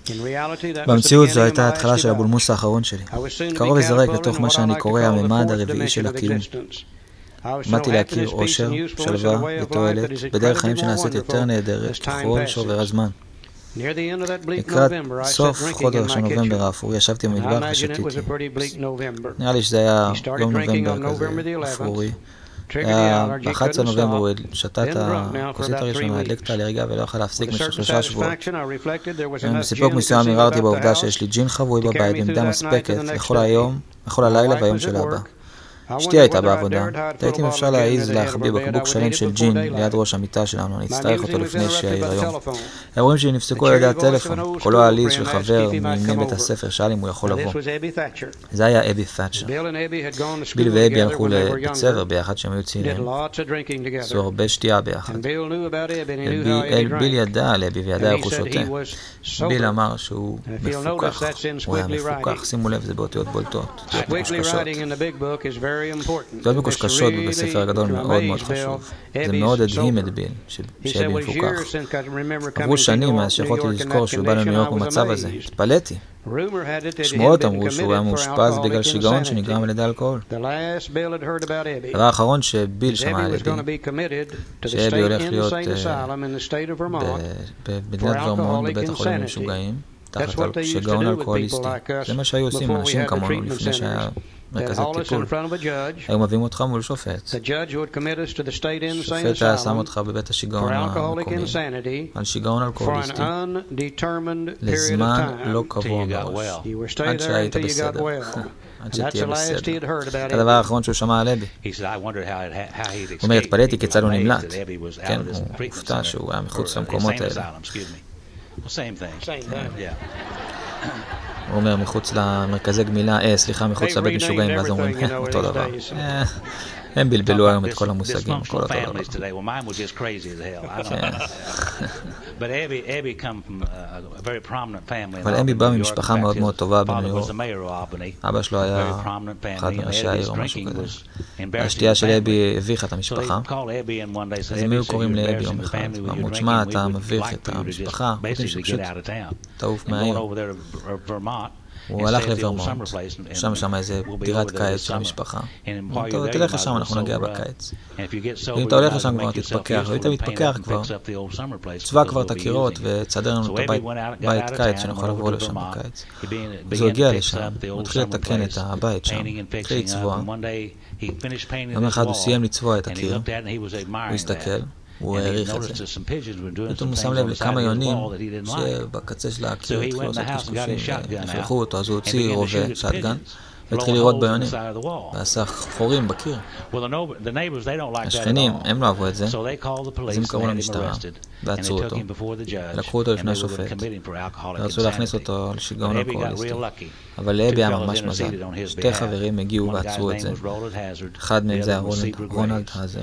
במציאות זו הייתה ההתחלה של הבולמוס האחרון שלי. קרוב וזרק לתוך מה שאני קורא הממד הרביעי של הקיום. עמדתי להכיר אושר, שלווה ותועלת בדרך חיים שנעשית יותר נהדרת ככל שעובר הזמן. לקראת סוף חודש נובמבר האפור ישבתי במטבח ושתיתי. נראה לי שזה היה יום נובמבר כזה אפורי. ב-11 נובמבר הוא שתה את הכוסית הראשונה, הדליק את האלרגיה ולא יכול להפסיק במשך 3 שבועות. בסיפוק מסוים הרהרתי בעובדה שיש לי ג'ין חבוי בבית במידה מספקת לכל הלילה והיום של הבא. אשתי הייתה בעבודה, תהיתי אם אפשר להעיז להחביא בקבוק שלם של ג'ין ליד ראש המיטה שלנו, אני אצטרך אותו לפני שיעיר היום. האירועים שלי נפסקו על ידי הטלפון, קולו העליז של חבר מימי בית הספר, שאל אם הוא יכול לבוא. זה היה אבי ת'אצ'ר. ביל ואבי הלכו לבית ספר ביחד שהם היו צעירים. עשו הרבה שתייה ביחד. ביל ידע על אבי וידע איך הוא שותה. ביל אמר שהוא מפוקח, הוא היה מפוקח, שימו לב, זה באותיות בולטות, להיות מקושקשות בבית ספר הגדול מאוד מאוד חשוב. זה מאוד הדהים את ביל, שאבי מפוקח. עברו שנים מאז שיכולתי לזכור שהוא בא לניו יורק במצב הזה. התפלאתי. שמועות אמרו שהוא היה מאושפז בגלל שיגעון שנגרם על ידי אלכוהול. הדבר האחרון שביל שמע על אבי, שאבי הולך להיות במדינת ורמונט בבית החולים למשוגעים, תחת שיגעון אלכוהוליסטי. זה מה שהיו עושים אנשים כמונו לפני שהיה מרכזי טיפול. היו מביאים אותך מול שופט. שופט היה שם אותך בבית השיגעון המקומי, על שיגעון אלכוהוליסטי, לזמן לא קבוע מראש, עד שהיית בסדר. עד שתהיה בסדר. הדבר האחרון שהוא שמע על אבי. הוא אומר, התפלאתי כיצד הוא נמלט. כן, הוא הופתע שהוא היה מחוץ למקומות האלה. הוא אומר מחוץ למרכזי גמילה, מחוץ לבית משוגעים, ואז אומרים, אותו דבר. הם בלבלו היום את כל המושגים, כל אותו דבר. אבל אבי בא ממשפחה מאוד מאוד טובה בניו יורק. אבא שלו היה אחד מראשי העיר או משהו כזה. השתייה של אבי הביכה את המשפחה. אז הם היו קוראים לאבי יום אחד. ואמרו, תשמע, אתה מביך את המשפחה. חושבים שפשוט תעוף מהעיר. הוא הלך לוורמונט, שם איזה דירת קיץ של המשפחה. תלך לשם, אנחנו נגיע בקיץ. אם אתה הולך לשם כבר תתפקח, ואם אתה מתפקח כבר, צבע כבר את הקירות ותסדר לנו את הבית קיץ שנוכל לבוא לשם בקיץ. אז הוא הגיע לשם, הוא התחיל לתקן את הבית שם, התחיל לצבוע. יום אחד הוא סיים לצבוע את הקיר, הוא הסתכל, הוא העריך את זה. פתאום הוא שם לב לכמה יונים שבקצה של הקיר התחילו לעשות קשקושים והפרחו אותו, אז הוא הוציא רובה, שטגן, והתחיל לראות ביונים, ועשה חורים בקיר. השכנים, הם לא אהבו את זה, אז הם קראו למשטרה, ועצרו אותו, ולקחו אותו לפני שופט, ורצו להכניס אותו לשיגעון אלכוהוליסטי. אבל לאבי היה ממש מזל. 2 חברים הגיעו ועצרו את זה. אחד מהם זה היה רונלד האזר,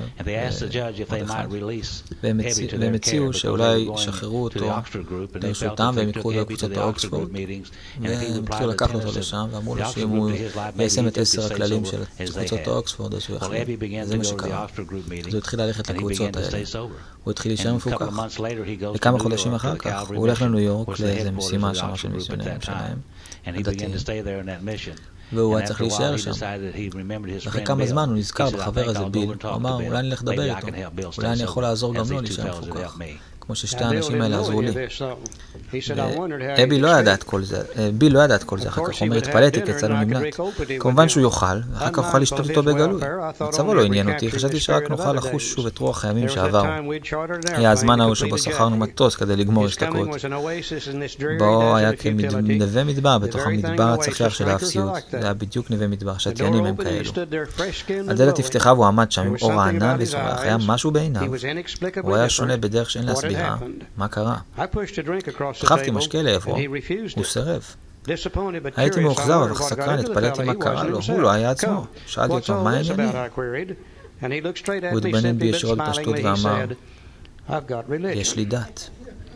והם הציעו שאולי ישחררו אותו לרשותם, והם יקחו אותו לקבוצת האוקספורד, והם התחילו לקחת אותו לשם, ואמרו לו שאם הוא יישם את 10 הכללים של קבוצות האוקספורד, אז הוא יחליט. זה מה שקרה. אז הוא התחיל ללכת לקבוצות האלה. הוא התחיל להישאר מפוקח. וכמה חודשים אחר כך, הוא הולך לניו יורק לאיזו משימה שם של מיסיונרים שלהם, הדתיים, והוא היה צריך להישאר שם. אחרי כמה זמן הוא נזכר בחבר הזה ביל, הוא אמר, אולי נלך לדבר איתו, אולי אני יכול לעזור גם לו להישאר מפוקח, כמו ששתי האנשים האלה עזרו לי. ביל לא ידע את כל זה, אחר כך הוא אומר, התפלאתי כיצד הוא נמלט. כמובן שהוא יוכל, ואחר כך הוא יוכל לשתות אותו בגלוי. מצבו לא עניין אותי, חשבתי שרק נוכל לחוש שוב את רוח הימים שעברו. היה הזמן ההוא שבו שכרנו מטוס כדי לגמור השתקעות. בו היה כנווה מדבר בתוך המדבר הצחיח של האפסיות. זה היה בדיוק נווה מדבר, שתיינים הם כאלו. הדלת נפתחה והוא עמד שם עם אור הענן וזורח, היה משהו בעיניו. הוא היה שונה בדרך שאין להסבירה. מה קרה? דחפתי משקה לעברו, הוא סירב. הייתי מאוכזב, אך סקרן, התפלאתי מה קרה לו, הוא לא היה עצמו. שאלתי אותו, מה העניינים? הוא התבונן בי ישירות בפשטות ואמר, יש לי דת.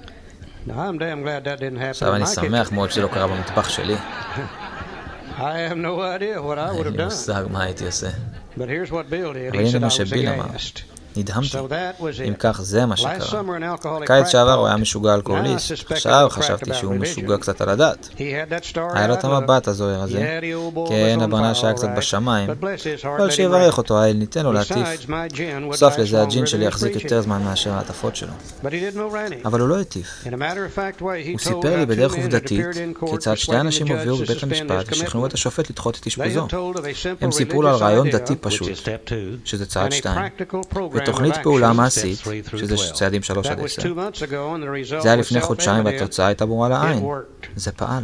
עכשיו אני שמח מאוד שלא קרה במטבח שלי. אין לי מושג מה הייתי עושה. אבל הנה מה שביל אמר. נדהמתי. אם כך, זה מה שקרה. קיץ שעבר הוא היה משוגע אלכוהוליסט. עכשיו חשבתי שהוא משוגע קצת על הדת. היה לו את המבט הזוהר הזה, כן, הברנה שהיה קצת בשמיים, אבל שיברך אותו, האל ניתן לו להטיף. נוסף לזה, הג'ין שלי יחזיק יותר זמן מאשר העטפות שלו. אבל הוא לא הטיף. הוא סיפר לי בדרך עובדתית כיצד שתי אנשים הוביאו בבית המשפט ושכנעו את השופט לדחות את אשפוזו. הם סיפרו לו על רעיון דתי פשוט, שזה צעד 2, ותוכנית פעולה מעשית, שזה צעדים 3 עד 10. זה היה לפני חודשיים והתוצאה הייתה ברורה לעין. זה פעל.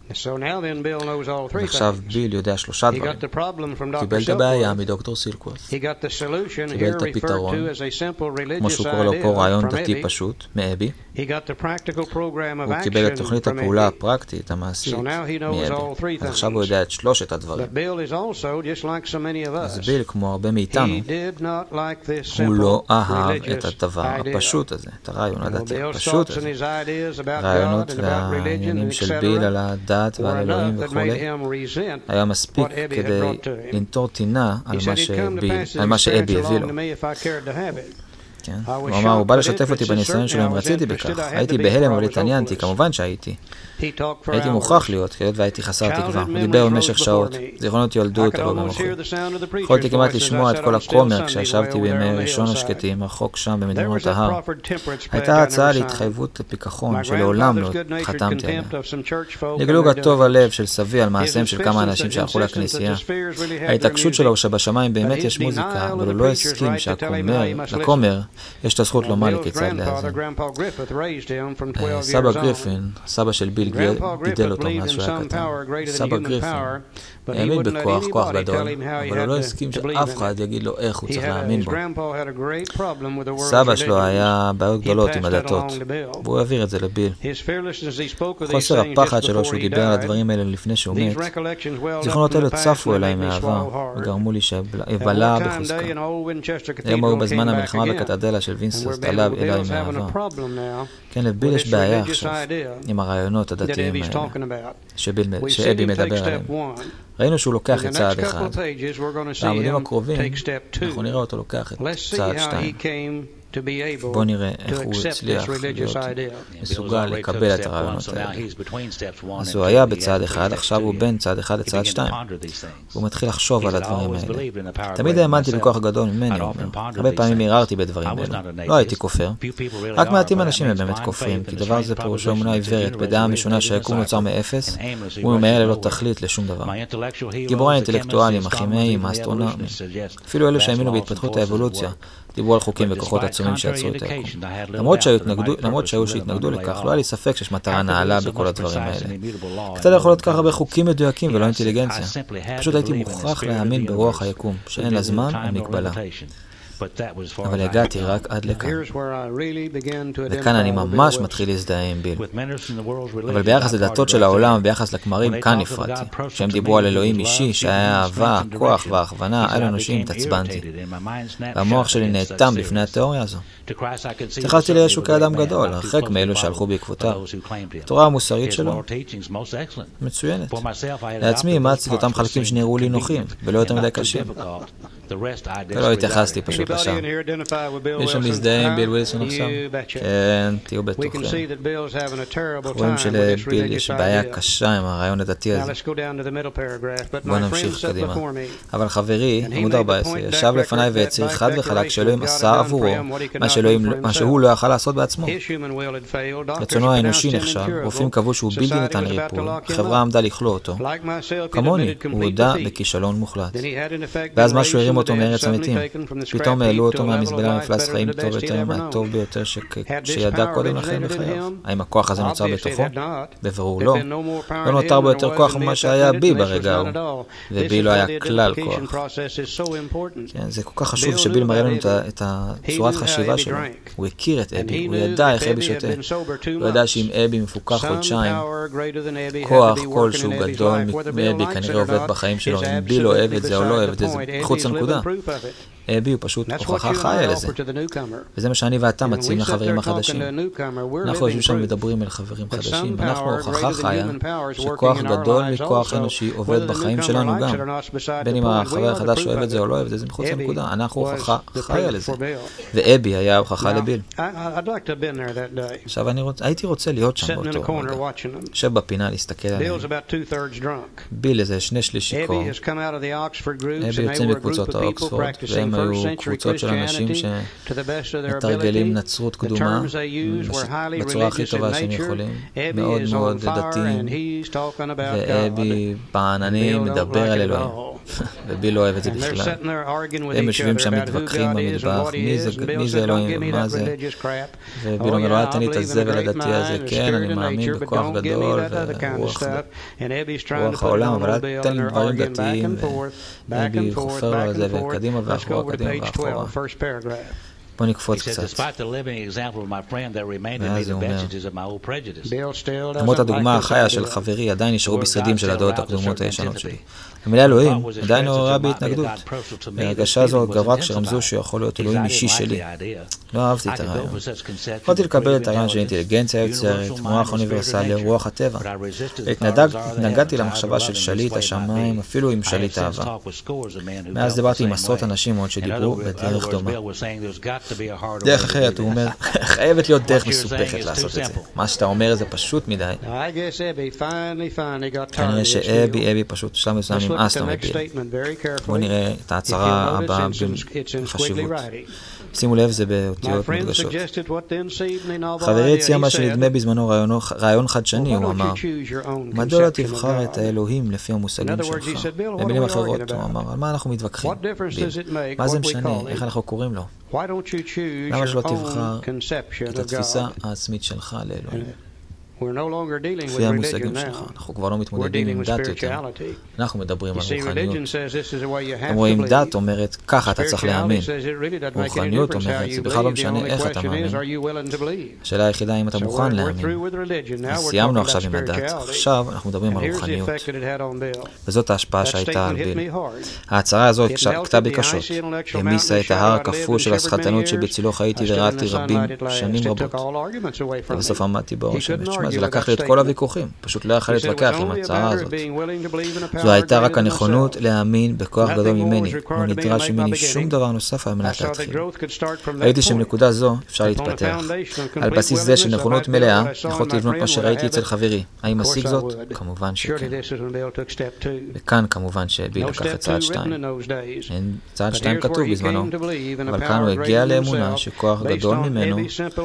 ועכשיו ביל יודע 3 דברים. קיבל את הבעיה מדוקטור סילקוורת', קיבל את הפתרון, כמו שהוא קורא לו פה רעיון דתי פשוט, מאבי. הוא קיבל את תוכנית הפעולה הפרקטית, המעשית, מאבי. אז עכשיו הוא יודע את 3 הדברים. אז ביל, כמו הרבה מאיתנו, הוא לא אהב את הדבר הפשוט הזה, את הרעיון הדתי הפשוט הזה. הרעיונות והעניינים של ביל על הדת ועל אלוהים וכו' היה מספיק כדי לנטור טינה על מה שאבי הביא לו. הוא אמר, הוא בא לשתף אותי בניסיון שלו אם רציתי בכך. הייתי בהלם אבל התעניינתי, כמובן שהייתי. הייתי מוכרח להיות, כיות והייתי חסר תקווה. הוא דיבר במשך שעות, זיכרונות ילדות אבל במוחי. יכולתי כמעט לשמוע את כל הכומר כשישבתי בימי ראשון השקטים, רחוק שם במדרונות ההר. הייתה הצעה להתחייבות לפיקחון שלעולם לא חתמתי עליה. לגלוג הטוב הלב של סבי על מעשיהם של כמה אנשים שהלכו לכנסייה. ההתעקשות שלו שבשמיים באמת יש מוזיקה, אבל הוא לא הסכים שהכומר יש את הזכות לומר לי כיצד להאזין. סבא גריפין, סבא של ביל גידל אותו מאז שהוא היה קטן. סבא גריפין האמין בכוח, כוח גדול, אבל הוא לא הסכים שאף אחד יגיד לו איך הוא צריך להאמין בו. סבא שלו היה בעיות גדולות עם הדתות, והוא העביר את זה לביל. חוסר הפחד שלו שהוא דיבר על הדברים האלה לפני שהוא מת, זיכרונות האלה צפו אליי מהעבר, וגרמו לי שבלע בחוזקה. היום הוא בזמן המלחמה בקתדרלה של וינסטרט עליו אליי מהעבר. כן, לביל יש בעיה עכשיו עם הרעיונות הדתיים האלה, שאבי מדבר עליהם. ראינו שהוא לוקח את צעד אחד. בעמודים הקרובים אנחנו נראה אותו לוקח את צעד 2. בוא נראה איך הוא הצליח להיות מסוגל לקבל את הרעיונות האלה. אז הוא היה בצעד אחד, עכשיו הוא בין צעד אחד לצעד 2. הוא מתחיל לחשוב על הדברים האלה. תמיד האמנתי בכוח גדול ממני, הרבה פעמים הרהרתי בדברים האלה. לא הייתי כופר. רק מעטים אנשים הם באמת כופרים, כי דבר זה פירושו אמונה עיוורת, בדעה משונה שהיקום נוצר מאפס, הוא ממהר ללא תכלית לשום דבר. גיבורי האינטלקטואלים, הכימאים, האסטרונומים, אפילו אלו שהאמינו בהתפתחות האבולוציה, דיברו על חוקים וכוחות עצומים שיצרו את היקום. למרות שהיו שהתנגדו לכך, לא היה לי ספק שיש מטרה נעלה בכל הדברים האלה. קצת יכול להיות כך הרבה חוקים מדויקים ולא אינטליגנציה. פשוט הייתי מוכרח להאמין ברוח היקום, שאין לה זמן או מגבלה. אבל הגעתי רק עד לכאן. וכאן אני ממש מתחיל להזדהה עם ביל. אבל ביחס לדתות של העולם וביחס לכמרים, כאן נפרדתי. כשהם דיברו על אלוהים אישי, שהיה אהבה, כוח והכוונה, על אנושים, התעצבנתי. והמוח שלי נאטם בפני התיאוריה הזו. התייחסתי לישו כאדם גדול, הרחק מאלו שהלכו בעקבותיו. התורה המוסרית שלו מצוינת. לעצמי אימצתי את אותם חלקים שנראו לי נוחים, ולא יותר מדי קשים. ולא התייחסתי פשוט לשם. יש שם מזדהה עם ביל ווילסון עכשיו? כן, תהיו בטוחים. רואים שלביל יש בעיה קשה עם הרעיון הדתי הזה. בואו נמשיך קדימה. אבל חברי, עמוד 14, ישב לפניי והצהיר חד וחלק שאלוהים עשה עבורו מה שהוא לא יכל לעשות בעצמו. רצונו האנושי נחשב, רופאים קבעו שהוא בלתי ניתן לריפוי, החברה עמדה לכלוא אותו. כמוני, הוא הודע בכישלון מוחלט. ואז משהו הרים אותו מארץ המתים. פתאום העלו אותו מהמזבלה למפלס חיים טוב יותר מהטוב ביותר שידע קודם לכן בחייו. האם הכוח הזה נוצר בתוכו? בבירור לא. לא נותר בו יותר כוח ממה שהיה בי ברגע ההוא. ובי לא היה כלל כוח. זה כל כך חשוב שביל מראה לנו את הצורת חשיבה שלו. הוא הכיר את אבי, הוא ידע איך אבי שותה. הוא ידע שאם אבי מפוקח חודשיים, כוח כלשהו גדול מאבי כנראה עובד בחיים שלו. אם בי לא אוהב את זה או לא אוהב את זה, זה חוץ לנקודה. אבי הוא פשוט הוכחה חיה לזה. וזה מה שאני ואתה מציעים לחברים החדשים. אנחנו יושבים שם ומדברים אל חברים חדשים. אנחנו הוכחה חיה שכוח גדול מכוח אנושי עובד בחיים שלנו גם. בין אם החבר החדש אוהב את זה או לא אוהב את זה, זה מחוץ לנקודה. אנחנו הוכחה חיה לזה. ואבי היה הוכחה לביל. עכשיו הייתי רוצה להיות שם באותו רגע. יושב בפינה להסתכל עליהם. ביל איזה 2/3 שיכור. אבי יוצאים בקבוצות האוקספורד, והם היו קבוצות של אנשים שמתרגלים נצרות קדומה בצורה הכי טובה שהם יכולים, מאוד מאוד דתיים, ואבי בעננים מדבר על אלוהים, וביל לא אוהב את זה בכלל. הם יושבים שם מתווכחים במטבח, מי זה אלוהים ומה זה, וביל אומר לו, אל תן לי את הזבל הדתי הזה, כן, אני מאמין בכוח גדול ורוח העולם, אבל אל תן לי דברים דתיים, ואבי חופר לו על זה, וקדימה ואחורה, קדימה ואחורה. בוא נקפוץ קצת. ואז הוא אומר, למרות הדוגמה החיה של חברי, עדיין נשארו בשרידים של הדעות הקדומות הישנות שלי. המילה אלוהים עדיין עוררה בהתנגדות. ההרגשה זו גברה כשרמזו שיכול להיות אלוהים אישי שלי. לא אהבתי את הרעיון. יכולתי לקבל את הרעיון של אינטליגנציה יוצרת, מוח אוניברסלי, רוח הטבע. התנגדתי למחשבה של שליט השמיים, אפילו עם שליט אהבה. מאז דיברתי עם עשרות אנשים עוד שדיברו בדרך דומה. דרך אחרת, הוא אומר, חייבת להיות דרך מסופכת לעשות את זה. מה שאתה אומר זה פשוט מדי. כנראה שאבי פשוט שלב מסוים נמאס לו מביל. בואו נראה את ההצהרה הבאה בחשיבות. שימו לב, זה באותיות מודגשות. חברי הציע מה שנדמה בזמנו רעיון חדשני, הוא אמר, מדוע לא תבחר את האלוהים לפי המושגים שלך? במילים אחרות, הוא אמר, על מה אנחנו מתווכחים? מה זה משנה? איך אנחנו קוראים לו? למה שלא תבחר את התפיסה העצמית שלך לאלוהים? לפי המושגים שלך. אנחנו כבר לא מתמודדים עם דת יותר. אנחנו מדברים על רוחניות. אומרים, דת אומרת, ככה אתה צריך להאמין. רוחניות אומרת, זה בכלל לא משנה איך אתה מאמין. השאלה היחידה אם אתה מוכן להאמין. סיימנו עכשיו עם הדת. עכשיו אנחנו מדברים על רוחניות. וזאת ההשפעה שהייתה על ביל. ההצהרה הזאת קטעה בי קשות. המיסה את ההר הקפוא של הסחטנות שבצילו חייתי וראיתי רבים שנים רבות. ובסוף עמדתי בראש המשמע. זה לקח לי את כל הוויכוחים, פשוט לא יכל להתווכח עם ההצעה הזאת. זו הייתה רק הנכונות להאמין בכוח גדול ממני, לא נדרש ממני שום דבר נוסף על מנת להתחיל. ראיתי שבנקודה זו אפשר להתפתח. על בסיס זה של נכונות מלאה, יכולתי לבנות מה שראיתי אצל חברי. האם אשיג זאת? כמובן שכן. וכאן כמובן שביל לקח את צעד 2. צעד 2 כתוב בזמנו, אבל כאן הוא הגיע לאמונה שכוח גדול ממנו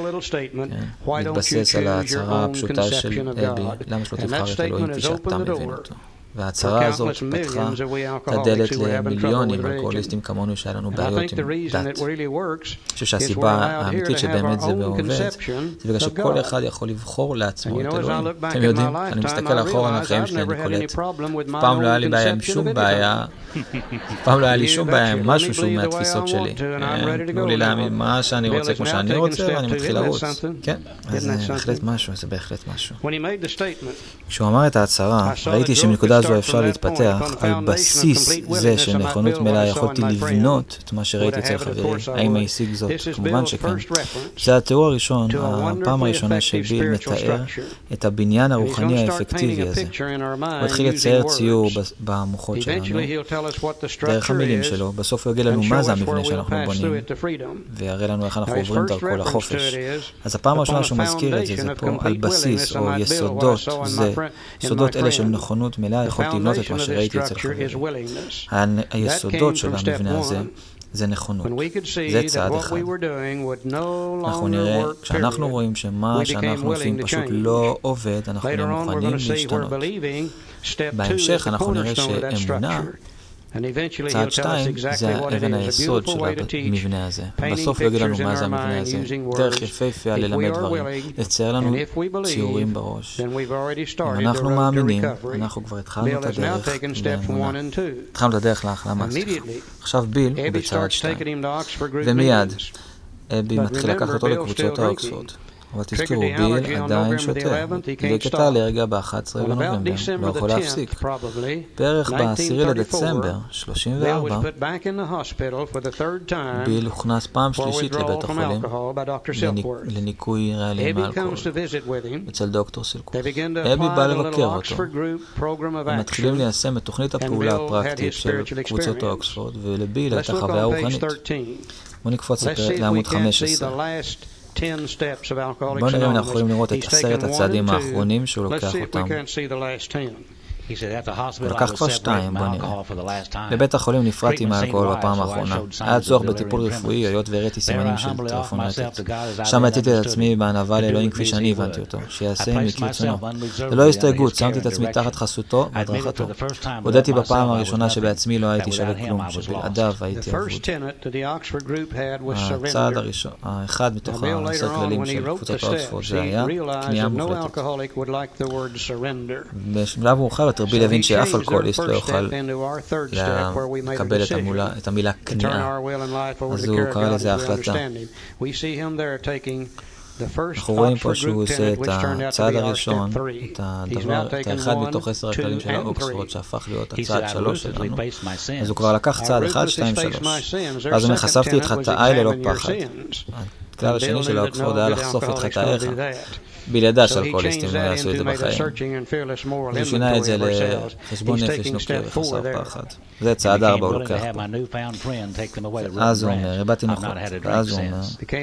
מתבסס על ההצהרה הפשוטה של אבי, למה שלא תבחר את אלוהים כפי שאתה מבין אותו. וההצהרה הזאת פתחה את הדלת למיליונים אלכוהוליסטים כמונו שהיה לנו בעיות עם דת. אני חושב שהסיבה האמיתית שבאמת זה עובד, זה בגלל שכל אחד יכול לבחור לעצמו את אלוהים. אתם יודעים, אני מסתכל אחורה על החיים שלי, אני קולט. פעם לא היה לי בעיה עם שום בעיה, פעם לא היה לי שום בעיה עם משהו שהוא מהתפיסות שלי. תנו לי להאמין מה שאני רוצה כמו שאני רוצה, ואני מתחיל לרוץ. כן, אז זה בהחלט משהו, זה בהחלט משהו. כשהוא אמר את ההצהרה, ראיתי שמנקודה זו אפשר להתפתח על בסיס זה של נכונות מלאה יכולתי לבנות את מה שראיתי אצל חברי. האם השיג זאת? כמובן שכן. זה התיאור הראשון, הפעם הראשונה שביל מתאר את הבניין הרוחני האפקטיבי הזה. הוא התחיל לצייר ציור במוחות שלנו, דרך המילים שלו. בסוף הוא יגיד לנו מה זה המבנה שאנחנו בונים, ויראה לנו איך אנחנו עוברים דרכו לחופש. אז הפעם הראשונה שהוא מזכיר את זה, זה פה על בסיס או יסודות, זה יסודות אלה של נכונות מלאה יכולתי לבנות את מה שראיתי אצל חברי. היסודות של המבנה הזה זה נכונות. זה צעד אחד. אנחנו נראה, כשאנחנו רואים שמה שאנחנו עושים פשוט לא עובד, אנחנו לא מוכנים להשתנות. בהמשך אנחנו נראה שאמונה, צעד 2 זה אבן היסוד של המבנה הזה. בסוף יגיד לנו מה זה המבנה הזה. דרך יפהפה ללמד דברים, לצייר לנו ציורים בראש. אם אנחנו מאמינים, אנחנו כבר התחלנו את הדרך לאמונה. התחלנו את הדרך להחלמה. עכשיו ביל בצעד 2. ומיד אבי מתחיל לקחת אותו לקבוצות האוקספורד. אבל תזכרו, ביל עדיין שותה. הדליק את האלרגיה ב-11 בנובמבר, לא יכול להפסיק. בערך ב-10 לדצמבר, 34, ביל הוכנס פעם שלישית לבית החולים לניקוי רעלים מאלכוהול אצל דוקטור סילקוס. אבי בא לבקר אותו. הם מתחילים ליישם את תוכנית הפעולה הפרקטית של קבוצות אוקספורד, ולביל הייתה חוויה רוחנית. בואו נקפוץ לעמוד 15. בואו נראה אם אנחנו יכולים לראות את 10 הצעדים האחרונים שהוא לוקח אותם. הוא לקח כבר 2, בוא נראה. בבית החולים נפרדתי מהאלכוהול בפעם האחרונה. היה צורך בטיפול רפואי, היות והראיתי סימנים של טרפונטית. שם יצאתי את עצמי בענווה לאלוהים כפי שאני הבנתי אותו, שיעשה עמי כרצונו. ללא הסתייגות, שמתי את עצמי תחת חסותו והדרכתו. הודיתי בפעם הראשונה שבעצממי לא הייתי שווה כלום, שבלעדיו הייתי אבוד. הצעד האחד מתוך 10 כללים של קבוצת אוקספורד זה היה כניעה מוחלטת. בשלב מאוחר ביל הבין שאף אלכוהוליסט לא יוכל לקבל את המילה כניעה, אז הוא קרא לזה ההחלטה. אנחנו רואים פה שהוא עושה את הצעד הראשון, את האחד מתוך 10 הכללים של האוקספורד שהפך להיות הצעד 3 שלנו, אז הוא כבר לקח צעד 1, 2, 3. אז הוא חשפתי את חטאיי ללא פחד. הכלל השני של האוקספורד היה לחשוף את חטאיך. ביל ידע שאלכוהוליסטים לא יעשו את זה בחיים. הוא שינה את זה לחשבון נפש נוקי וחסר פחד. זה צעד 4 הוא לוקח פה. אז הוא אומר, הבאתי נכון. אז הוא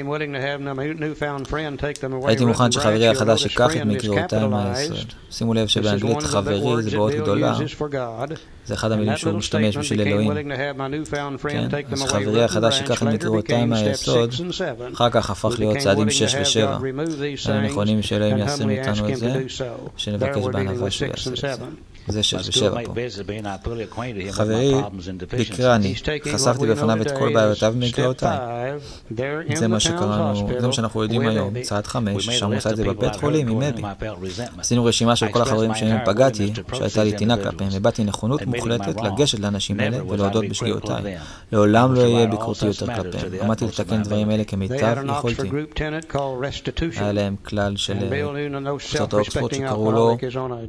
אומר, הייתי מוכן שחברי החדש ייקח את מקריאותיי מהיסוד. שימו לב שבאנגלית חברי זה באות גדולה. זה אחד המילים שהוא משתמש בשביל אלוהים. כן, אז שחברי החדש ייקח את מקריאותיי מהיסוד, אחר כך הפך להיות צעדים 6 ו-7. הם נכונים שאלוהים יעשה מאיתנו את זה, שנבקש בענווה שהוא יעשה את זה. זה 6 ו-7 פה. חברי ביקרני, חשפתי בפניו את כל בעיותיו ומקריאותיי. זה מה שקראנו, זה מה שאנחנו יודעים היום, צעד 5, שם הוא עושה את זה בבית חולים עם אבי. עשינו רשימה של כל החברים שהם פגעתי, שהייתה לי טינה כלפיהם, ובאתי נכונות מוחלטת לגשת לאנשים האלה ולהודות בשגיאותיי. לעולם לא יהיה ביקורתי יותר כלפיהם. עמדתי לתקן דברים אלה כמיטב יכולתי. היה להם כלל של קבוצות האוקספורד שקראו לו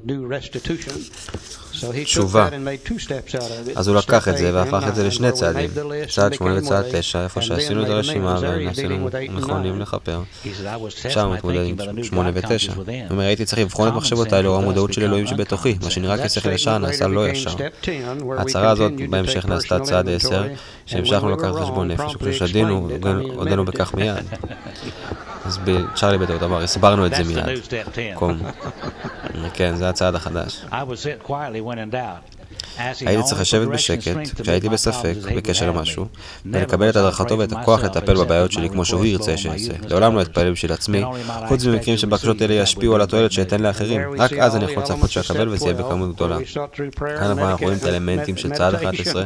תשובה. אז הוא לקח את זה והפך את זה לשני צעדים, צעד 8 וצעד 9, איפה שעשינו את הרשימה ועשינו נכונים לחפר. שם מתמודד עם 8 ו-9. הוא אומר, הייתי צריך לבחון את מחשבותיי לאור המודעות של אלוהים שבתוכי, מה שנראה כשכל ישר נעשה לא ישר. ההצהרה הזאת בהמשך נעשתה צעד 10, שהמשכנו לקחת חשבון נפש, וכששדינו, הודנו בכך מיד. אז צ'רלי בטעות אמר, הסברנו את זה מיד. כן, זה הצעד החדש. הייתי צריך לשבת בשקט, כשהייתי בספק, בקשר למשהו, ולקבל את הדרכתו ואת הכוח לטפל בבעיות שלי כמו שהוא ירצה שיעשה. לעולם לא אתפלל בשביל עצמי, חוץ ממקרים שבקשות אלה ישפיעו על התועלת שאתן לאחרים. רק אז אני יכול לצפות שאקבל וזה יהיה בכמות גדולה. כאן אנחנו רואים את האלמנטים של צעד 11,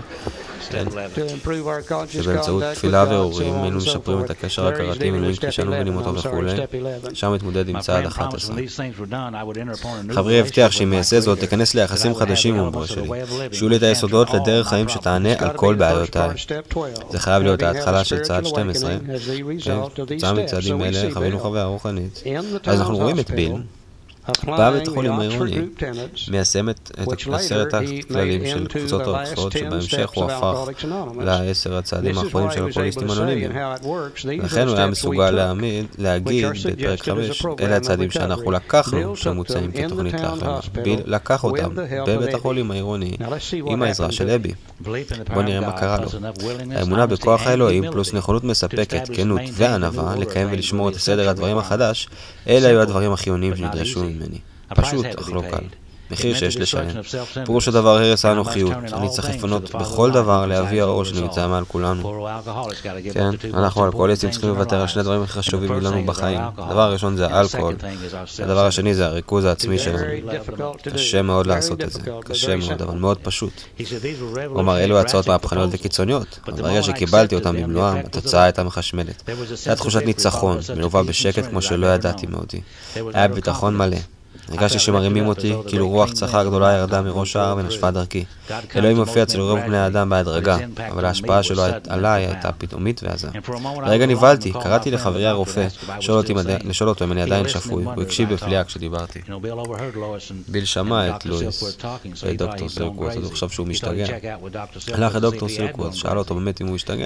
שבאמצעות תפילה ועוררים היינו משפרים את הקשר ההכרתי עם אלוהים כשאנו מבינים אותו וכו'. שם מתמודד עם צעד 11. חברי הבטיח שאם יעשה זאת תיכנס ליחסים חדשים עם הבורא שלי, שיהיו לי את היסודות לדרך חיים שתענה על כל בעיותיי. זה חייב להיות ההתחלה של צעד 12. תוצאה מצעדים אלה חווינו חוויה רוחנית. אז אנחנו רואים את ביל בא בית החולים העירוני, מיישם את 10 הכללים של קבוצות אוקספורד, שבהמשך הוא הפך ל10 הצעדים האחרונים של אלכוהוליסטים אנונימיים. לכן הוא היה מסוגל להגיד בפרק 5, אלה הצעדים שאנחנו לקחנו שמוצאים כתוכנית להחלמה. ביל לקח אותם בבית החולים העירוני עם העזרה של אבי. בוא נראה מה קרה לו. האמונה בכוח האלוהים פלוס נכונות מספקת, כנות וענווה לקיים ולשמור את סדר הדברים החדש, אלה היו הדברים החיוניים שנדרשו ממני. פשוט, אך לא קל. מחיר שיש לשלם. פירוש הדבר הרס האנוכיות. אני צריך לפנות בכל דבר לאבי האור שנמצא מעל כולנו. כן, אנחנו אלכוהוליסטים צריכים לוותר על שני דברים הכי חשובים לנו בחיים. הדבר הראשון זה האלכוהול. הדבר השני זה הריכוז העצמי שלנו. קשה מאוד לעשות את זה. קשה מאוד, אבל מאוד פשוט. הוא אמר, אלו הצעות מהפכניות וקיצוניות. ברגע שקיבלתי אותם במלואם, התוצאה הייתה מחשמלת. הייתה תחושת ניצחון, מלווה בשקט כמו שלא ידעתי מאותי. היה ביטחון מלא. הרגשתי שמרימים אותי, כאילו רוח צחה גדולה ירדה מראש ההר ונשפה דרכי. אלוהים מופיע אצל רוב בני האדם בהדרגה, אבל ההשפעה שלו עליי הייתה פתאומית ועזה. לרגע נבהלתי, קראתי לחברי הרופא, לשאול אותו אם אני עדיין שפוי, הוא הקשיב בפליאה כשדיברתי. ביל שמע את לואיס ואת דוקטור סילקווורט, אז הוא חשב שהוא משתגע. הלך לדוקטור סילקווורט, שאל אותו באמת אם הוא משתגע,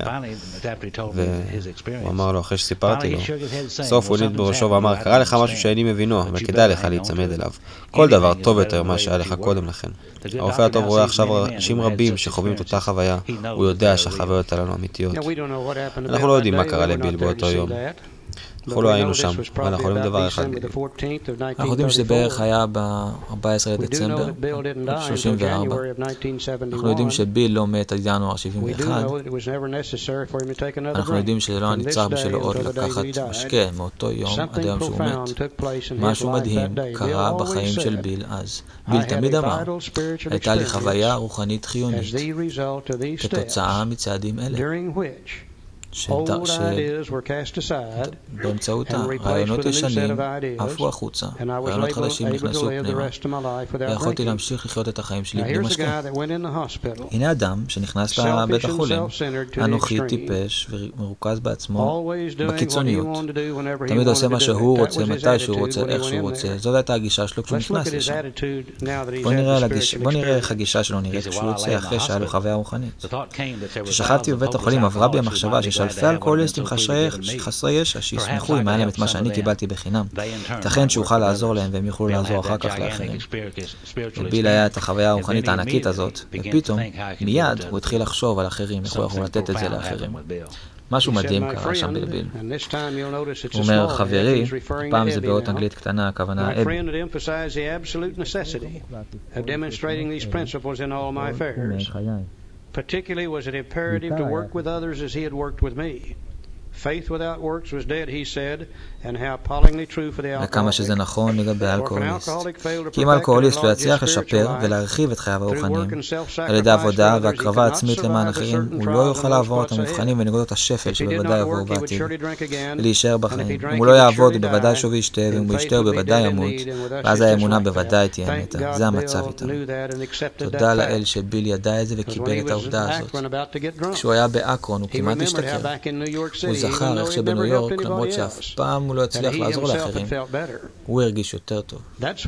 והוא אמר לו אחרי שסיפרתי לו, סוף הוא ניד בראשו ואמר, קרה לך משהו שאני מבינו, אבל כדאי לך להצמד אליו. כל דבר טוב יותר מה שהיה לך קודם לכן. הרופא הטוב רואה עכשיו אנשים רבים שחווים את אותה חוויה, הוא יודע שהחוויות עלינו אמיתיות. אנחנו לא יודעים מה קרה לביל באותו יום. אנחנו לא היינו שם, אבל אנחנו יודעים דבר אחד. אנחנו יודעים שזה בערך היה ב-14 לדצמבר 34. אנחנו יודעים שביל לא מת עד ינואר 71. אנחנו יודעים שזה לא נצטרך בשבילו עוד לקחת משקה מאותו יום עד היום שהוא מת. משהו מדהים קרה בחיים של ביל אז. ביל תמיד אמר, הייתה לי חוויה רוחנית חיונית כתוצאה מצעדים אלה. באמצעות הרעיונות ישנים עפו החוצה, רעיונות חדשים נכנסו פנימה, ויכולתי להמשיך לחיות את החיים שלי בלי משקה. הנה אדם שנכנס לבית החולים, אנוכי טיפש ומרוכז בעצמו בקיצוניות. תמיד עושה מה שהוא רוצה, מתי שהוא רוצה, איך שהוא רוצה. זאת הייתה הגישה שלו כשהוא נכנס לשם. בוא נראה איך הגישה שלו נראית כשהוא יוצא אחרי שהיה לו חוויה רוחנית. כששכבתי בבית החולים עברה בי המחשבה שיש אלפי אלכוהוליסטים חסרי ישע שישמחו אם היה להם את מה שאני קיבלתי בחינם. ייתכן שאוכל לעזור להם והם יוכלו לעזור אחר כך לאחרים. לביל היה את החוויה הרוחנית הענקית הזאת, ופתאום, מיד הוא התחיל לחשוב על אחרים, איך הוא יכול לתת את זה לאחרים. משהו מדהים קרה שם בלביל. הוא אומר, חברי, פעם זה באות אנגלית קטנה, הכוונה אב. Particularly was it imperative to work with others as he had worked with me. Faith without works was dead, he said, and how appallingly true for the alcoholic. וכמה שזה נכון לגבי האלכוהוליסט. כי אם האלכוהוליסט לא יצליח לשפר ולהרחיב את חייו הרוחניים על ידי עבודה והקרבה עצמית למען אחרים, הוא לא יוכל לעבור את המבחנים ונקודות השפל שבוודאי יבואו בעתיד. ולהישאר בחיים. אם הוא לא יעבוד, הוא בוודאי שוב ישתה, ואם הוא ישתה, הוא בוודאי ימות, ואז האמונה בוודאי תהיה מתה. זה המצב איתנו. תודה לאל שביל ידע את זה וקיבל את העובדה הזאת. כשהוא היה באקרון, הוא כמעט השתכר. הוא זכר איך שבניו יורק, למרות שאף פעם הוא לא הצליח לעזור לאחרים, הוא הרגיש יותר טוב.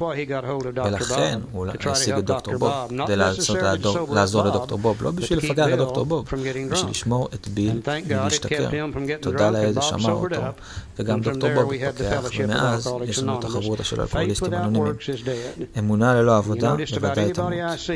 ולכן הוא השיג את דוקטור בוב, כדי לעזור לדוקטור בוב, לא בשביל לפגע לדוקטור בוב, בשביל לשמור את ביל ולהשתכר. תודה לאל זה שמר אותו, וגם דוקטור בוב פותח, ומאז יש לנו את החברות של אלכוהוליסטים אנונימיים. אמונה ללא עבודה בוודאי תמות.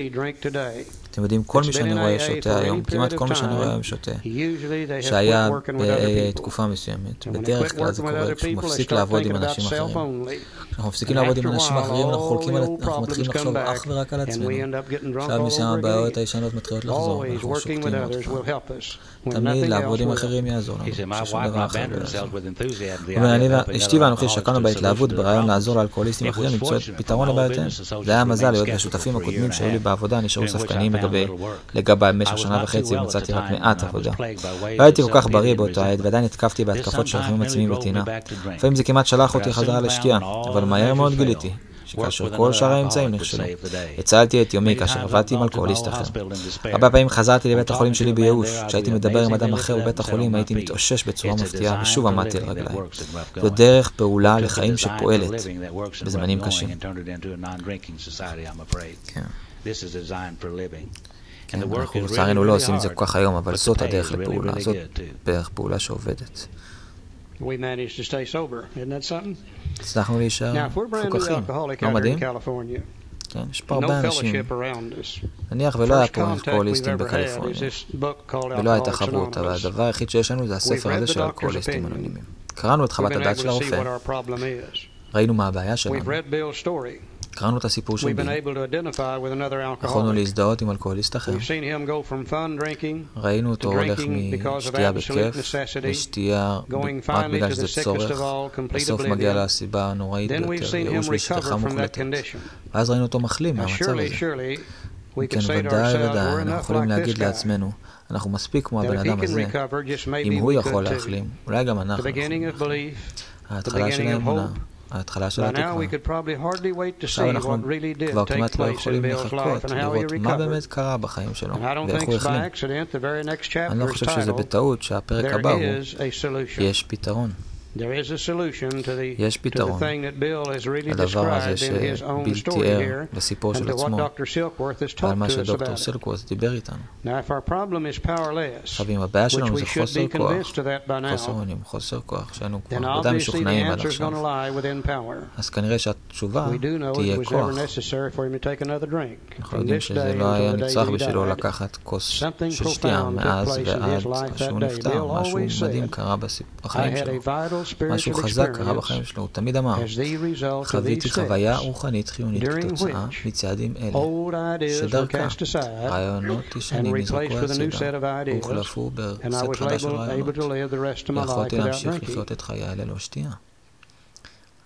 אתם יודעים, כל מי שאני רואה שותה היום, כמעט כל מי שאני רואה היום שותה, שהיה בתקופה מסוימת, בדרך כלל זה קורה כשהוא מפסיק לעבוד עם אנשים אחרים. כשאנחנו מפסיקים לעבוד עם אנשים אחרים, אנחנו מתחילים לחשוב אך ורק על עצמנו. עכשיו מסוים הבעיות הישנות מתחילות לחזור, אנחנו שוקטים עוד פעם. תמיד לעבוד עם אחרים יעזור לנו, ששום דבר אחר לא יעזור. אשתי ואנוכי שקענו בהתלהבות ברעיון לעזור לאלכוהוליסטים אחרים למצוא פתרון לבעיותיהם. זה היה מזל להיות השותפים הקודמים שהיו לי בעבודה נשארו ספקניים לגבי במשך שנה וחצי ומצאתי רק מעט עבודה. לא הייתי כל כך בריא באותה עת ועדיין התקפתי בהתקפות של רחמים עצמיים וטינה. לפעמים זה כמעט שלח אותי חזרה לשתייה, אבל מהר מאוד גיליתי שכאשר כל שאר האמצעים נכשלו. הצלתי את יומי כאשר עבדתי עם אלכוהוליסט אחר. הרבה פעמים חזרתי לבית החולים שלי בייאוש. כשהייתי מדבר עם אדם אחר בבית החולים הייתי מתאושש בצורה מפתיעה ושוב עמדתי על רגליים. זו דרך פעולה לחיים שפועלת בזמנים קשים. אנחנו לצערנו לא עושים את זה כל כך היום, אבל זאת הדרך לפעולה, זאת דרך פעולה שעובדת. הצלחנו להישאר מפוקחים, לא מדהים? כן, יש פה הרבה אנשים. נניח ולא היה פה אלכוהוליסטים בקליפורניה, ולא הייתה חברות, אבל הדבר היחיד שיש לנו זה הספר הזה של אלכוהוליסטים אנונימיים. קראנו את חוות הדעת של הרופא, ראינו מה הבעיה שלנו. קראנו את הסיפור של ביל. יכולנו להזדהות עם אלכוהוליסט אחר. ראינו אותו הולך משתייה בכיף לשתייה רק בגלל שזה צורך. בסוף מגיע לסיבה הנוראית ביותר, ייאוש ושכחה מוחלטת. ואז ראינו אותו מחלים מהמצב הזה. כן, ודאי, אנחנו יכולים להגיד לעצמנו, אנחנו מספיק כמו הבן אדם הזה. אם הוא יכול להחלים, אולי גם אנחנו יכולים. ההתחלה של האמונה, ההתחלה של By now התקווה. we could probably hardly wait to עכשיו see אנחנו what really כבר did take כמעט לא place in יכולים Bill's לחכות life and how he לראות מה recovered. באמת קרה בחיים שלו And I don't ואיך think הוא it's by החלים. accident the very next אני לא chapter is חושב שזה titled בטעות שהפרק There הבא הוא is a solution. יש פתרון. There is a solution יש to the פתרון thing that Bill has really לדבר הזה described in his own שביל story תיאר here לסיפור and של to what עצמו Dr. Silkworth has ועל talked מה to us שדוקטור about it. סילקוורת' דיבר איתנו. Now, if our problem is powerless, עכשיו אם הבעיה which שלנו we זה should חוסר be כוח, convinced of that by חוסר now, אונים, חוסר כוח, שהיינו כבר then ודאי obviously the משוכנעים עד answer is going עכשיו, to lie within power. אז כנראה שהתשובה We do know תהיה it was כוח. ever necessary for him to take another drink אנחנו from יודעים this שזה day לא היה until the day נצרך that he בשבילו died. לקחת כוס Something של שתייה profound took מאז place in ועד his life שהוא that day. נפטר. Bill משהו always מדהים said, קרה I בחיים had שלו. a vital משהו spiritual חזק קרה experience בחיים שלו. הוא תמיד אמר, as the result of חוויתי these חוויה steps, רוחנית חיונית during כתוצאה which מצעדים אלה, old ideas were שדרכה cast aside רעיונות and ישנים נזרקו replaced with a new set הצידה of ideas, והוחלפו and I בסט was חדש של able רעיונות, to live the rest of my life ויכולתי without להמשיך drinking. לחיות את חיי ללא שתייה.